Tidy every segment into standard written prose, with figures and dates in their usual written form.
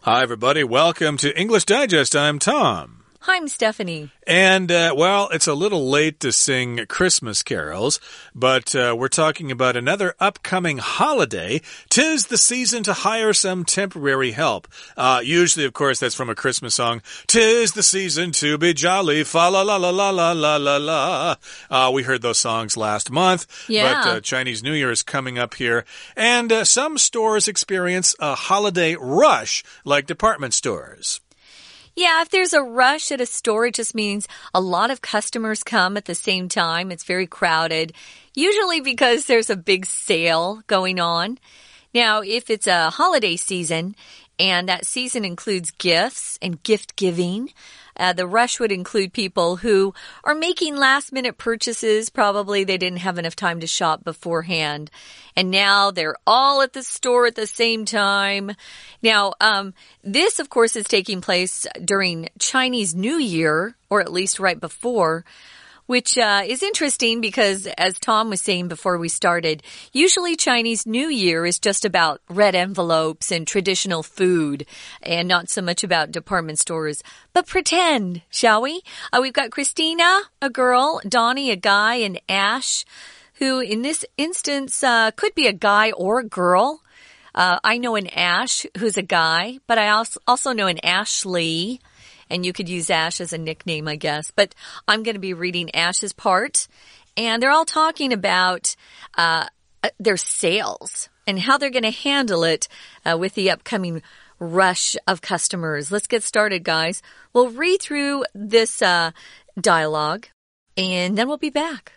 Hi, everybody. Welcome to English Digest. I'm Tom. I'm Stephanie. And, well, it's a little late to sing Christmas carols, but we're talking about another upcoming holiday. 'Tis the season to hire some temporary help. Usually, of course, that's from a Christmas song. 'Tis the season to be jolly, fa-la-la-la-la-la-la-la-la. We heard those songs last month, but Chinese New Year is coming up here. And some stores experience a holiday rush, like department stores. Yeah, if there's a rush at a store, it just means a lot of customers come at the same time. It's very crowded, usually because there's a big sale going on. Now, if it's a holiday season, and that season includes gifts and gift giving, the rush would include people who are making last-minute purchases. Probably they didn't have enough time to shop beforehand. And now they're all at the store at the same time. Now, this, of course, is taking place during Chinese New Year, or at least right before, which is interesting because, as Tom was saying before we started, usually Chinese New Year is just about red envelopes and traditional food and not so much about department stores. But pretend, shall we? We've got Christina, a girl, Donnie, a guy, and Ash, who in this instance could be a guy or a girl. I know an Ash who's a guy, but I also know an Ashley. And you could use Ash as a nickname, I guess. But I'm going to be reading Ash's part. And they're all talking about their sales and how they're going to handle it with the upcoming rush of customers. Let's get started, guys. We'll read through this dialogue, and then we'll be back.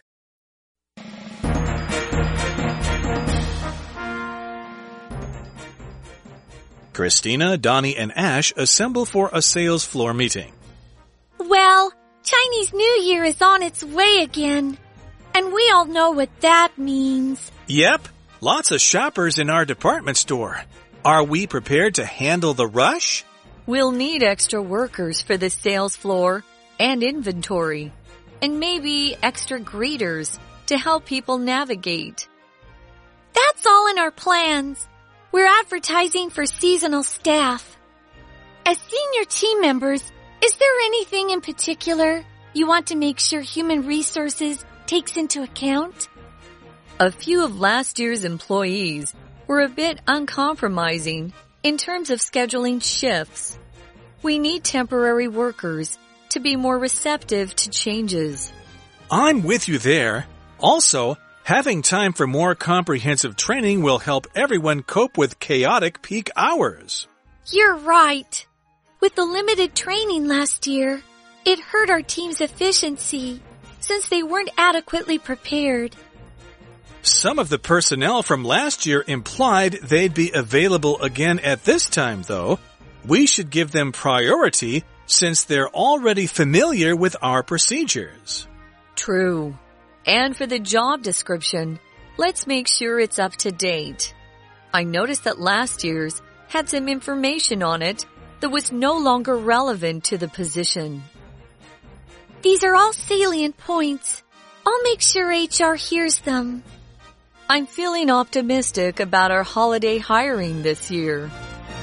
Christina, Donnie, and Ash assemble for a sales floor meeting. Well, Chinese New Year is on its way again, and we all know what that means. Yep, lots of shoppers in our department store. Are we prepared to handle the rush? We'll need extra workers for the sales floor and inventory, and maybe extra greeters to help people navigate. That's all in our plans. We're advertising for seasonal staff. As senior team members, is there anything in particular you want to make sure human resources takes into account? A few of last year's employees were a bit uncompromising in terms of scheduling shifts. We need temporary workers to be more receptive to changes. I'm with you there. Also, having time for more comprehensive training will help everyone cope with chaotic peak hours. You're right. With the limited training last year, it hurt our team's efficiency since they weren't adequately prepared. Some of the personnel from last year implied they'd be available again at this time, though. We should give them priority since they're already familiar with our procedures. True. And for the job description, let's make sure it's up to date. I noticed that last year's had some information on it that was no longer relevant to the position. These are all salient points. I'll make sure HR hears them. I'm feeling optimistic about our holiday hiring this year.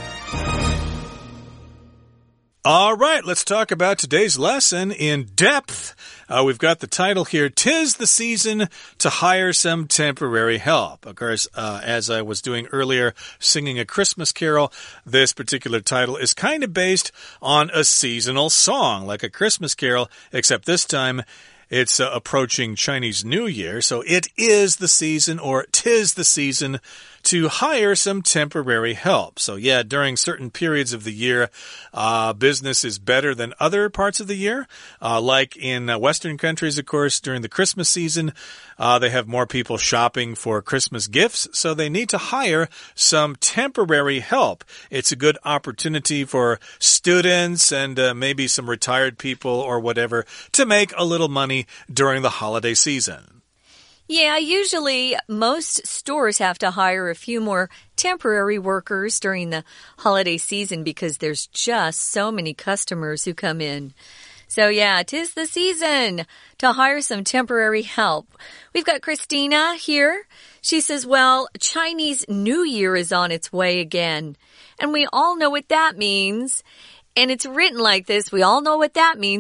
All right, let's talk about today's lesson in depth. We've got the title here, 'Tis the season to hire some temporary help. Of course, as I was doing earlier, singing a Christmas carol, this particular title is kind of based on a seasonal song, like a Christmas carol, except this time it's approaching Chinese New Year, so it is the season, or 'tis the season to hire some temporary help. So yeah, during certain periods of the year, business is better than other parts of the year. Like in Western countries, of course, during the Christmas season, they have more people shopping for Christmas gifts, so they need to hire some temporary help. It's a good opportunity for students and maybe some retired people or whatever to make a little money during the holiday season. Yeah, usually most stores have to hire a few more temporary workers during the holiday season because there's just so many customers who come in. So yeah, 'tis the season to hire some temporary help. We've got Christina here. She says, well, Chinese New Year is on its way again. And we all know what that means. And it's written like this. We all know what that means, ...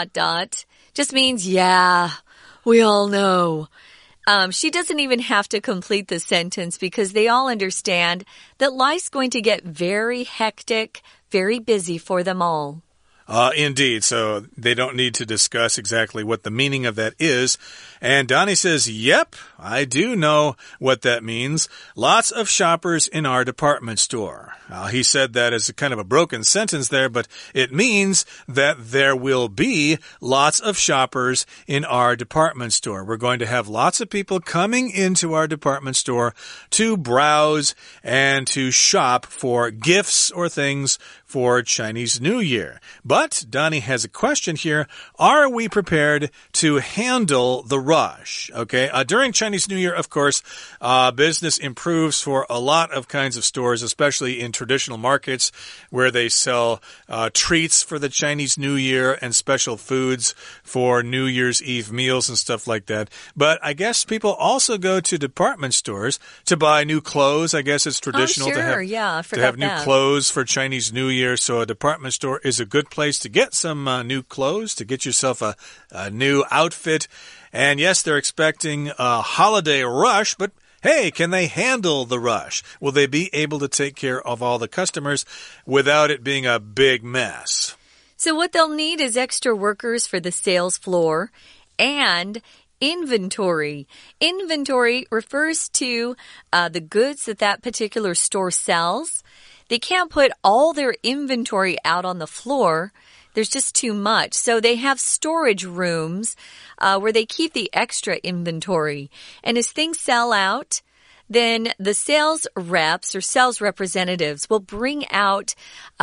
Just means, yeah, we all know. She doesn't even have to complete the sentence because they all understand that life's going to get very hectic, very busy for them all. Indeed. So they don't need to discuss exactly what the meaning of that is. And Donnie says, yep, I do know what that means. Lots of shoppers in our department store. He said that as a kind of a broken sentence there, but it means that there will be lots of shoppers in our department store. We're going to have lots of people coming into our department store to browse and to shop for gifts or things for Chinese New Year. But Donnie has a question here. Are we prepared to handle the rush? Okay, during Chinese New Year, of course, business improves for a lot of kinds of stores, especially in traditional markets where they sell treats for the Chinese New Year and special foods for New Year's Eve meals and stuff like that. But I guess people also go to department stores to buy new clothes. I guess it's traditional to have new clothes for Chinese New Year. So a department store is a good place to get some new clothes, to get yourself a new outfit. And yes, they're expecting a holiday rush, but hey, can they handle the rush? Will they be able to take care of all the customers without it being a big mess? So what they'll need is extra workers for the sales floor and inventory. Inventory refers to the goods that particular store sells. They can't put all their inventory out on the floor. There's just too much. So they have storage rooms where they keep the extra inventory. And as things sell out, then the sales reps or sales representatives will bring out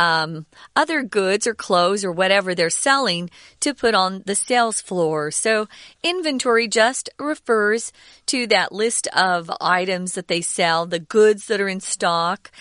other goods or clothes or whatever they're selling to put on the sales floor. So inventory just refers to that list of items that they sell, the goods that are in stock,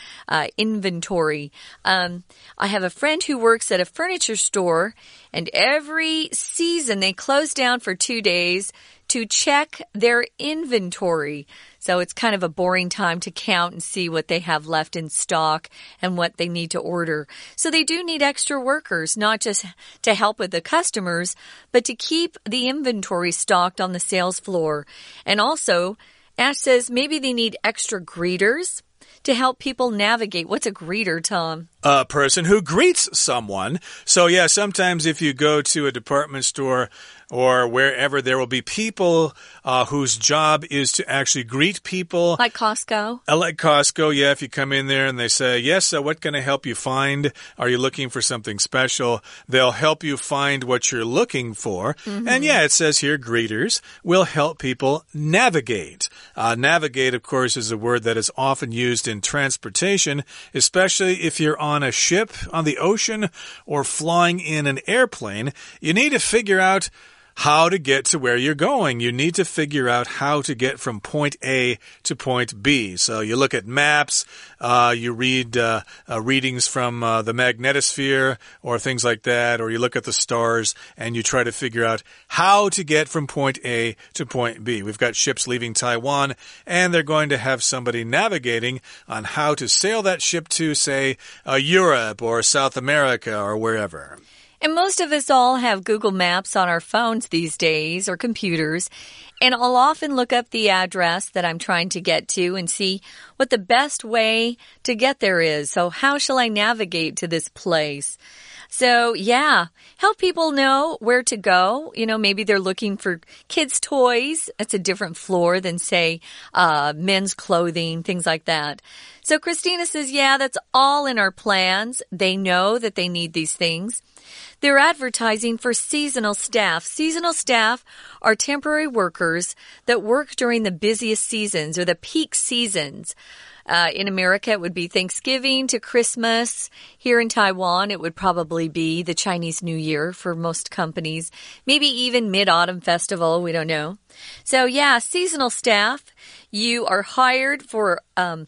inventory. I have a friend who works at a furniture store, and every season they close down for 2 days to check their inventory. So it's kind of a boring time to count and see what they have left in stock and what they need to order. So they do need extra workers, not just to help with the customers, but to keep the inventory stocked on the sales floor. And also, Ash says maybe they need extra greeters to help people navigate. What's a greeter, Tom? A person who greets someone. So yeah, sometimes if you go to a department store or wherever, there will be people whose job is to actually greet people. Like Costco? Like Costco, yeah. If you come in there and they say, yes, what can I help you find? Are you looking for something special? They'll help you find what you're looking for. And yeah, it says here, greeters will help people navigate. Navigate, of course, is a word that is often used in transportation, especially if you're on a ship on the ocean or flying in an airplane. You need to figure out how to get to where you're going. You need to figure out how to get from point A to point B. So you look at maps, you read readings from the magnetosphere or things like that, or you look at the stars and you try to figure out how to get from point A to point B. We've got ships leaving Taiwan, and they're going to have somebody navigating on how to sail that ship to, say, Europe or South America or wherever. And most of us all have Google Maps on our phones these days or computers. And I'll often look up the address that I'm trying to get to and see what the best way to get there is. So how shall I navigate to this place? So, yeah, help people know where to go. You know, maybe they're looking for kids' toys. That's a different floor than, say, men's clothing, things like that. So Christina says, yeah, that's all in our plans. They know that they need these things. They're advertising for seasonal staff. Seasonal staff are temporary workers that work during the busiest seasons or the peak seasons. In America, it would be Thanksgiving to Christmas. Here in Taiwan, it would probably be the Chinese New Year for most companies. Maybe even Mid-Autumn Festival. We don't know. So, yeah, seasonal staff. You are hired for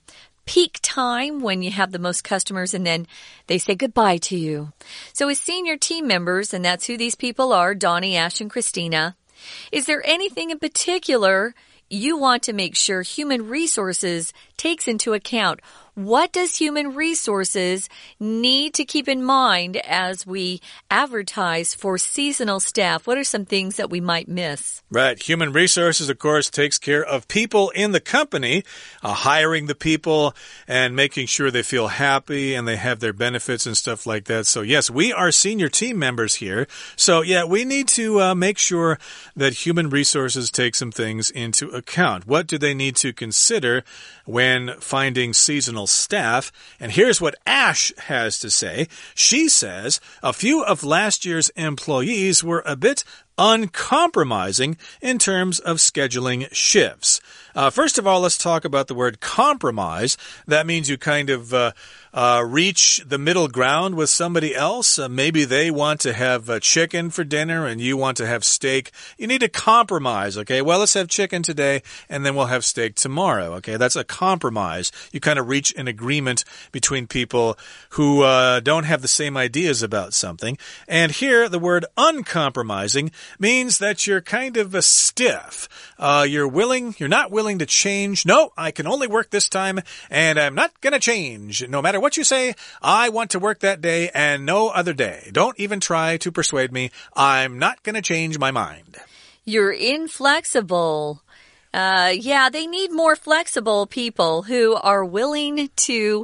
peak time when you have the most customers and then they say goodbye to you. So as senior team members, and that's who these people are, Donnie, Ash, and Christina, is there anything in particular you want to make sure Human Resources takes into account? What does Human Resources need to keep in mind as we advertise for seasonal staff? What are some things that we might miss? Right. Human Resources, of course, takes care of people in the company, hiring the people and making sure they feel happy and they have their benefits and stuff like that. So, yes, we are senior team members here. So, yeah, we need to make sure that Human Resources take some things into account. What do they need to consider when finding seasonal staff? And here's what Ash has to say. She says a few of last year's employees were a bit uncompromising in terms of scheduling shifts. First of all, let's talk about the word compromise. That means you kind of reach the middle ground with somebody else. Maybe they want to have chicken for dinner and you want to have steak. You need to compromise, okay? Well, let's have chicken today and then we'll have steak tomorrow, okay? That's a compromise. You kind of reach an agreement between people who don't have the same ideas about something. And here, the word uncompromising means that you're kind of a stiff. You're not willing to change. No, I can only work this time and I'm not going to change. No matter what you say, I want to work that day and no other day. Don't even try to persuade me. I'm not going to change my mind. You're inflexible. Yeah, they need more flexible people who are willing to,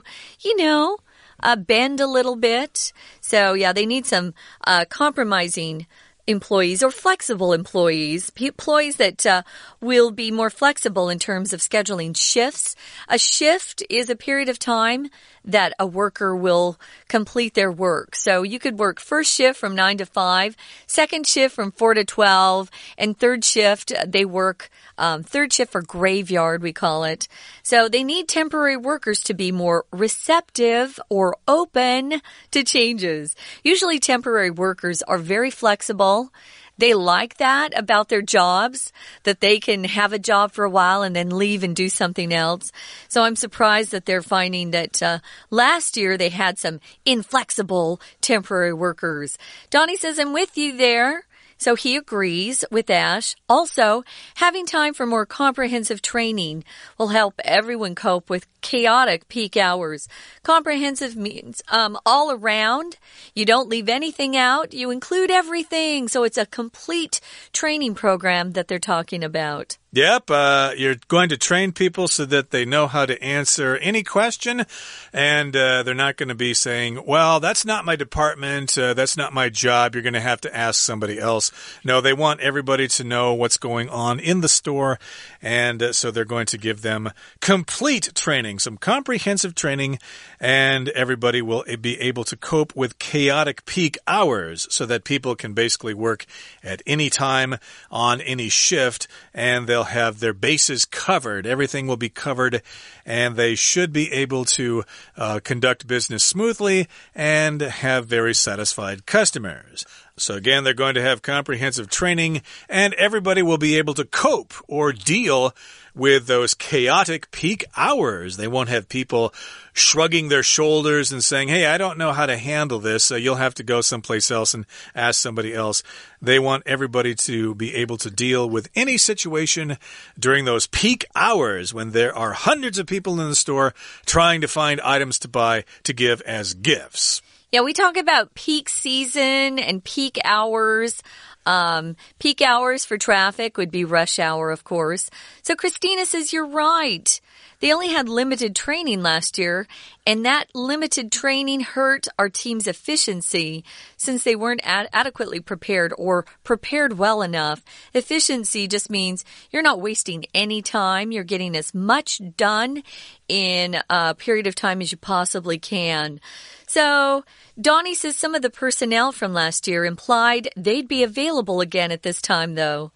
bend a little bit. So, yeah, they need some compromising employees or flexible employees that will be more flexible in terms of scheduling shifts. A shift is a period of time that a worker will complete their work. So you could work first shift from 9 to 5, second shift from 4 to 12, and third shift, they work third shift for graveyard, we call it. So they need temporary workers to be more receptive or open to changes. Usually temporary workers are very flexible. They like that about their jobs, that they can have a job for a while and then leave and do something else. So I'm surprised that they're finding that last year they had some inflexible temporary workers. Donnie says, I'm with you there. So he agrees with Ash. Also, having time for more comprehensive training will help everyone cope with chaotic peak hours. Comprehensive means all around. You don't leave anything out. You include everything. So it's a complete training program that they're talking about. Yep, you're going to train people so that they know how to answer any question, and they're not going to be saying, well, that's not my department, that's not my job, you're going to have to ask somebody else. No, they want everybody to know what's going on in the store, and so they're going to give them complete training, some comprehensive training, and everybody will be able to cope with chaotic peak hours so that people can basically work at any time on any shift, and they'll have their bases covered. Everything will be covered, and they should be able to conduct business smoothly and have very satisfied customers. So again, they're going to have comprehensive training, and everybody will be able to cope or deal with those chaotic peak hours. They won't have people shrugging their shoulders and saying, hey, I don't know how to handle this, so you'll have to go someplace else and ask somebody else. They want everybody to be able to deal with any situation during those peak hours when there are hundreds of people in the store trying to find items to buy to give as gifts. Yeah, we talk about peak season and peak hours. Peak hours for traffic would be rush hour, of course. So Christina says you're right. They only had limited training last year, and that limited training hurt our team's efficiency since they weren't adequately prepared or prepared well enough. Efficiency just means you're not wasting any time. You're getting as much done in a period of time as you possibly can. So Donnie says some of the personnel from last year implied they'd be available again at this time, though.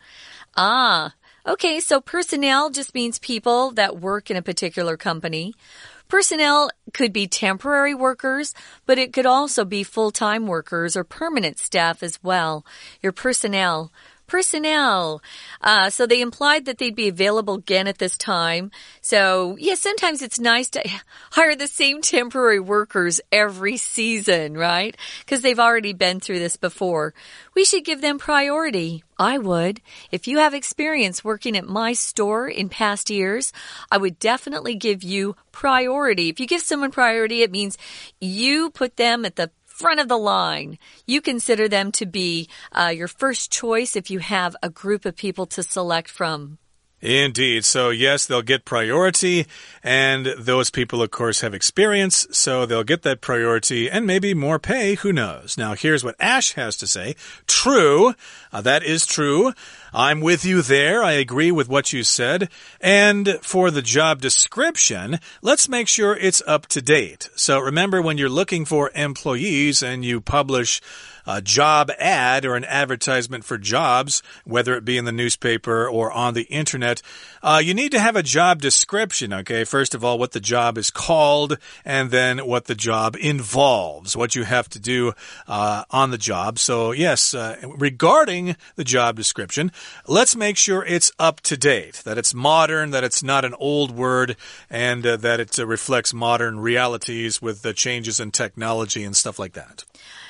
Okay, so personnel just means people that work in a particular company. Personnel could be temporary workers, but it could also be full-time workers or permanent staff as well. Your personnel. personnel. So they implied that they'd be available again at this time. So, yeah, sometimes it's nice to hire the same temporary workers every season, right? Because they've already been through this before. We should give them priority. I would. If you have experience working at my store in past years, I would definitely give you priority. If you give someone priority, it means you put them at the front of the line. You consider them to be your first choice if you have a group of people to select from. Indeed. So, yes, they'll get priority, and those people, of course, have experience, so they'll get that priority and maybe more pay. Who knows? Now, here's what Ash has to say. True. That is true. I'm with you there. I agree with what you said. And for the job description, let's make sure it's up to date. So remember, when you're looking for employees and you publish a job ad or an advertisement for jobs, whether it be in the newspaper or on the internet, you need to have a job description, okay? First of all, what the job is called, and then what the job involves, what you have to do on the job. So, yes, regarding the job description, let's make sure it's up to date, that it's modern, that it's not an old word, and that it reflects modern realities with the changes in technology and stuff like that.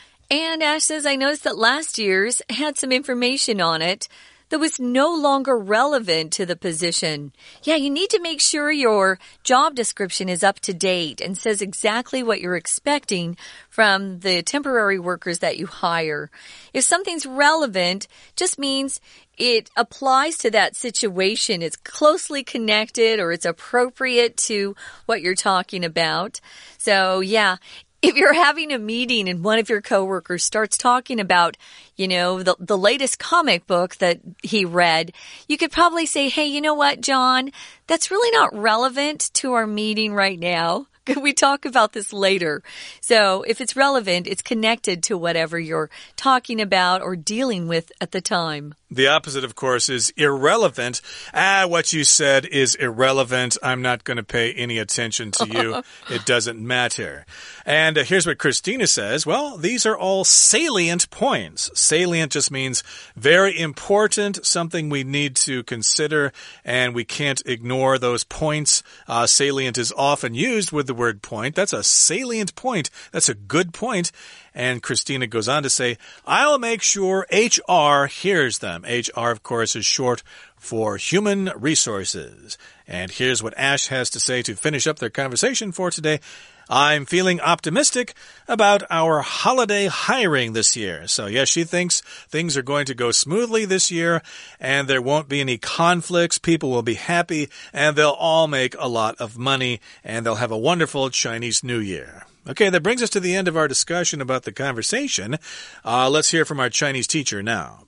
And Ash says, I noticed that last year's had some information on it that was no longer relevant to the position. Yeah, you need to make sure your job description is up to date and says exactly what you're expecting from the temporary workers that you hire. If something's relevant, just means it applies to that situation. It's closely connected or it's appropriate to what you're talking about. So, yeah. If you're having a meeting and one of your coworkers starts talking about, you know, the latest comic book that he read, you could probably say, hey, you know what, John, that's really not relevant to our meeting right now. Could we talk about this later? So if it's relevant, it's connected to whatever you're talking about or dealing with at the time. The opposite, of course, is irrelevant. What you said is irrelevant. I'm not going to pay any attention to you. It doesn't matter. And here's what Christina says. Well, these are all salient points. Salient just means very important, something we need to consider, and we can't ignore those points. Salient is often used with the word point. That's a salient point. That's a good point. And Christina goes on to say, I'll make sure HR hears them. HR, of course, is short for human resources. And here's what Ash has to say to finish up their conversation for today. I'm feeling optimistic about our holiday hiring this year. So, yes, she thinks things are going to go smoothly this year and there won't be any conflicts. People will be happy and they'll all make a lot of money and they'll have a wonderful Chinese New Year. Okay, that brings us to the end of our discussion about the conversation. Let's hear from our Chinese teacher now.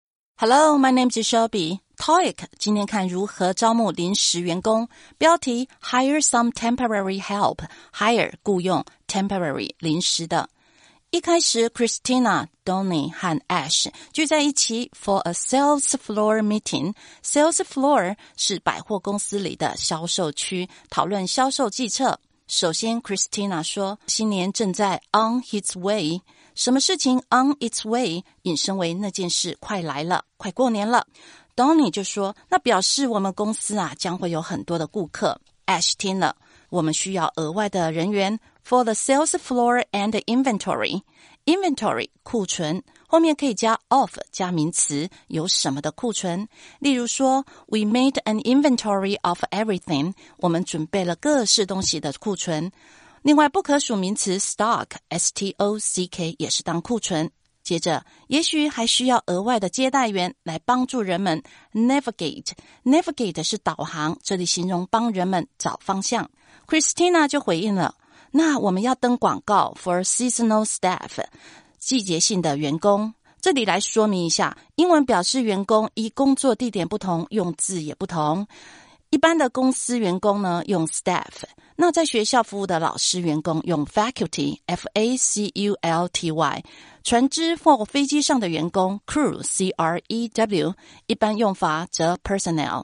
Hello, my name is Shelby. TOEIC 今天看如何招募臨時員工，標題 Hire some temporary help. Hire 僱用 temporary 臨時的。一開始 Christina、Donnie 和 Ash 聚在一起 for a sales floor meeting. Sales floor 是百貨公司裡的銷售區，討論銷售計策。首先 Christina 說新年正在 on its way。什麼事情 on its way 引申為那件事快來了，快過年了。Donnie 就說那表示我們公司將會有很多的顧客。Ash 聽了我們需要額外的人員 for the sales floor and inventory. Inventory 庫存後面可以加 of 加名詞，有什麼的庫存，例如說 We made an inventory of everything. 我們準備了各式東西的庫存。另外不可數名詞 stock S-T-O-C-K 也是當庫存。接着也許還需要額外的接待員來幫助人們 navigate. Navigate 是導航，這裡形容幫人們找方向。Christina 就回應了，那我們要登廣告 for seasonal staff. 季節性的員工，這裡來說明一下，英文表示員工依工作地點不同，用字也不同。一般的公司員工呢，用 staff， 那在學校服務的老師員工用 faculty F-A-C-U-L-T-Y， 船隻或飛機上的員工 crew C-R-E-W， 一般用法則 personnel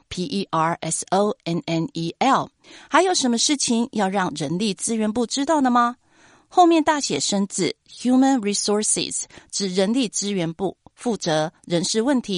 P-E-R-S-O-N-N-E-L。 還有什麼事情要讓人力資源部知道的嗎？後面大寫生字 human resources 指人力資源部，負責人事問題。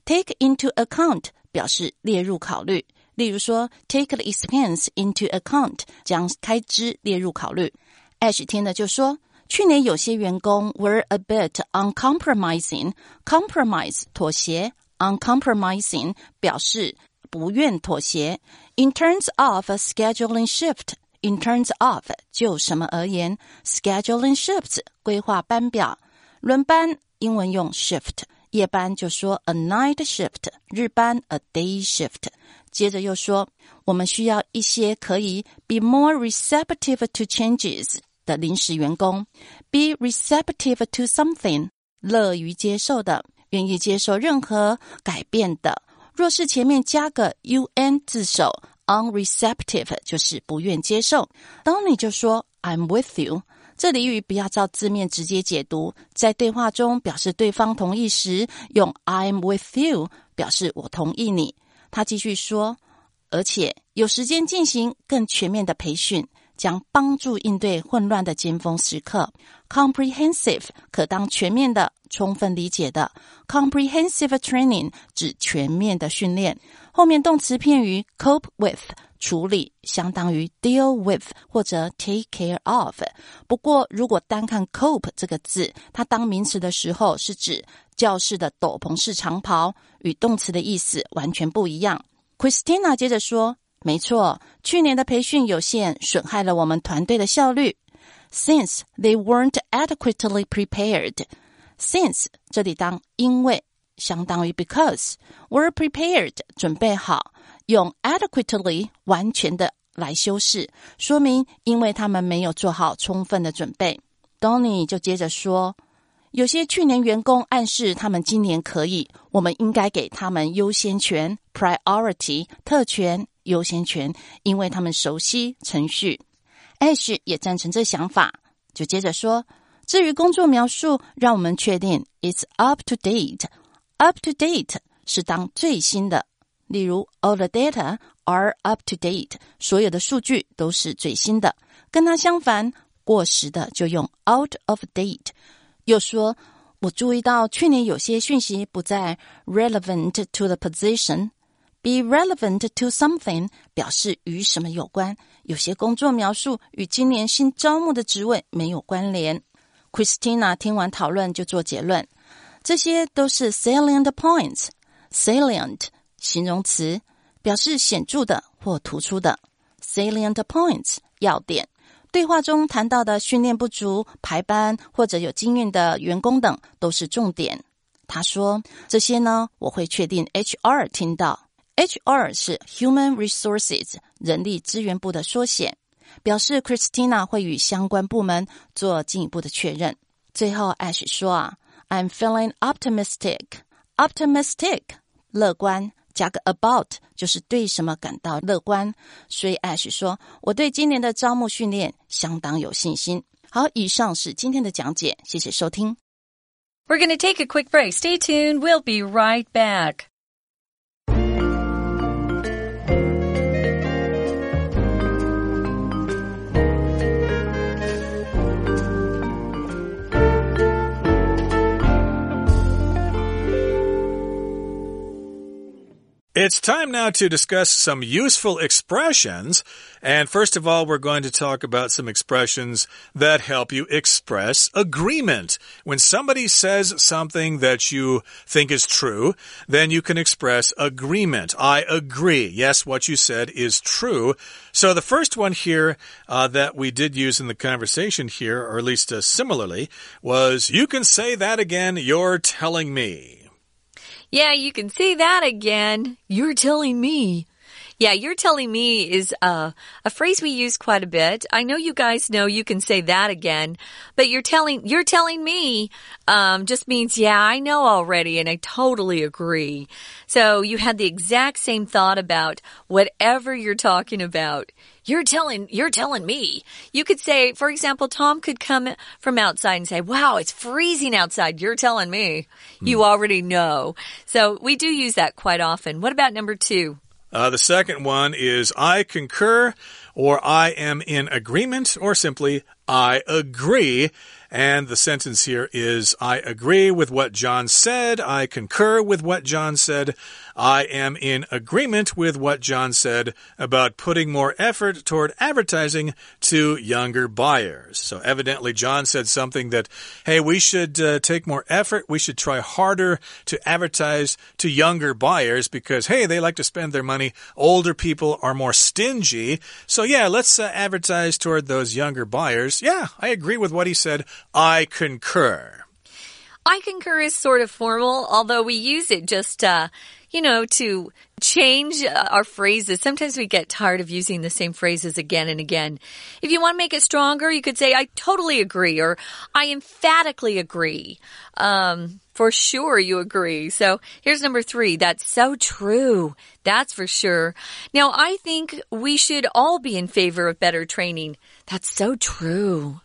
Take into account 表示列入考慮，例如說 take the expense into account 將開支列入考慮。Ash 聽了就說，去年有些員工 were a bit uncompromising. Compromise 妥協， uncompromising 表示不願妥協。In terms of a scheduling shift, in terms of 就什麼而言， scheduling shifts 規劃班表，輪班英文用 shift， 夜班就說 a night shift， 日班 a day shift。接着又說，我們需要一些可以 be more receptive to changes 的臨時員工， be receptive to something 樂於接受的，願意接受任何改變的。若是前面加個 un 字首 unreceptive 就是不願接受。當你就說 I'm with you， 這俚語不要照字面直接解讀，在對話中表示對方同意時，用 I'm with you 表示我同意你。他繼續說，而且有時間進行更全面的培訓，將幫助應對混亂的尖峰時刻。Comprehensive 可當全面的、充分理解的。Comprehensive training 指全面的訓練。後面動詞片語 cope with 處理，相當於 deal with 或者 take care of。不過如果單看 cope 這個字，它當名詞的時候是指教室的斗篷式長袍，與動詞的意思完全不一樣。Christina 接着說，沒錯，去年的培訓有限，損害了我們團隊的效率。Since they weren't adequately prepared. Since 這裡當因為相當於 because were prepared 準備好，用 adequately 完全的來修飾，說明因為他們沒有做好充分的準備。Donnie 就接着說，有些去年員工暗示他們今年可以，我們應該給他們優先權 priority 特權優先權，因為他們熟悉程序。Ash 也贊成這想法，就接着說，至於工作描述，讓我們確定 it's up to date. Up to date 是當最新的，例如 all the data are up to date， 所有的數據都是最新的。跟它相反，過時的就用 out of date。又說，我注意到去年有些訊息不再 relevant to the position。Be relevant to something 表示與什麼有關，有些工作描述與今年新招募的職位沒有關聯。Christina 聽完討論就做結論，這些都是 salient points。Salient 形容詞，表示顯著的或突出的。Salient points 要點。對話中談到的訓練不足、排班或者有經驗的員工等都是重點。他說，這些呢，我會確定 HR 聽到。HR 是 Human Resources 人力資源部的縮寫，表示 Christina 會與相關部門做進一步的確認。最後 Ash 說I'm feeling optimistic. Optimistic 樂觀，加個 about 就是對什麼感到樂觀，所以 Ash 說我對今年的招募訓練相當有信心。好，以上是今天的講解，謝謝收聽。 We're going to take a quick break. Stay tuned. We'll be right back. It's time now to discuss some useful expressions. And first of all, we're going to talk about some expressions that help you express agreement. When somebody says something that you think is true, then you can express agreement. I agree. Yes, what you said is true. So the first one here that we did use in the conversation here, or at least similarly, was you can say that again, you're telling me.Yeah, you can say that again. You're telling me. Yeah, you're telling me is a phrase we use quite a bit. I know you guys know you can say that again, but you're telling me just means, yeah, I know already and I totally agree. So you had the exact same thought about whatever you're talking about. You're telling me. You could say, for example, Tom could come from outside and say, wow, it's freezing outside. You're telling me. You already know. So we do use that quite often. What about number 2? The second one is I concur, or I am in agreement, or simply I agree. And the sentence here is, I agree with what John said. I concur with what John said. I am in agreement with what John said about putting more effort toward advertising to younger buyers. So evidently John said something that, hey, we should take more effort. We should try harder to advertise to younger buyers because, hey, they like to spend their money. Older people are more stingy. So yeah, let's advertise toward those younger buyers. Yeah, I agree with what he said. I concur. I concur is sort of formal, although we use it just, to change our phrases. Sometimes we get tired of using the same phrases again and again. If you want to make it stronger, you could say, I totally agree, or I emphatically agree. For sure you agree. So here's number 3. That's so true. That's for sure. Now, I think we should all be in favor of better training. That's so true.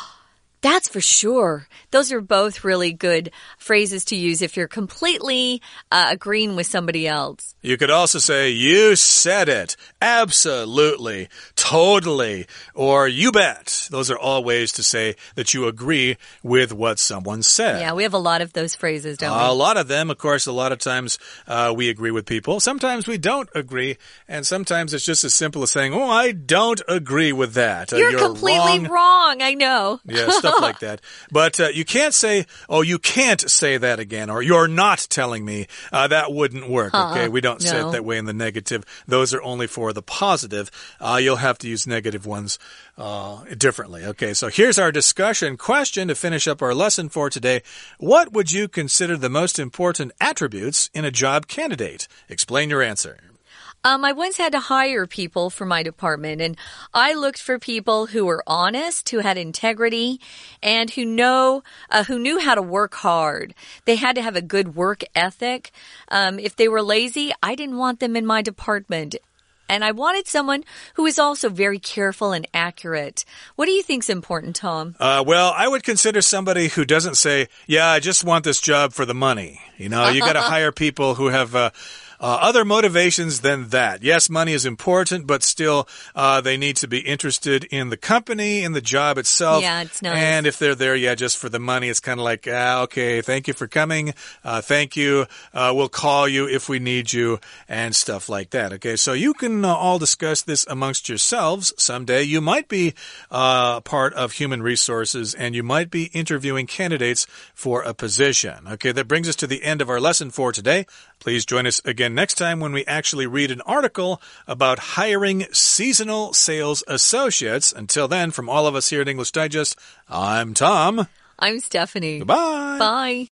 That's for sure. Those are both really good phrases to use if you're completely agreeing with somebody else. You could also say, you said it. Absolutely. Totally. Or you bet. Those are all ways to say that you agree with what someone said. Yeah, we have a lot of those phrases, don't we? A lot of them. Of course, a lot of times we agree with people. Sometimes we don't agree. And sometimes it's just as simple as saying, oh, I don't agree with that. You're completely wrong. I know. Yeah, stuff like that. But you can't say, oh, you can't say that again, or you're not telling me. That wouldn't work, okay? We don't say it that way in the negative. Those are only for the positive. You'll have to use negative ones differently. Okay, so here's our discussion question to finish up our lesson for today. What would you consider the most important attributes in a job candidate? Explain your answer. I once had to hire people for my department, and I looked for people who were honest, who had integrity, and who knew how to work hard. They had to have a good work ethic. If they were lazy, I didn't want them in my department. And I wanted someone who was also very careful and accurate. What do you think's important, Tom? Well, I would consider somebody who doesn't say, yeah, I just want this job for the money. You know, you got to hire people who have other motivations than that. Yes, money is important, but still they need to be interested in the company, in the job itself. Yeah, it's nice. And if they're there, just for the money, it's kind of like, okay, thank you for coming. Thank you. We'll call you if we need you and stuff like that. Okay, so you can all discuss this amongst yourselves someday. You might be part of human resources and you might be interviewing candidates for a position. Okay, that brings us to the end of our lesson for today. Please join us again next time when we actually read an article about hiring seasonal sales associates. Until then, from all of us here at English Digest, I'm Tom. I'm Stephanie. Goodbye. Bye.